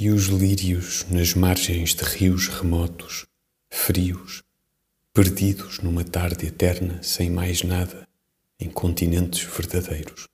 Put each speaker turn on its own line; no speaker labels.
e os lírios nas margens de rios remotos, frios, perdidos numa tarde eterna sem mais nada, em continentes verdadeiros.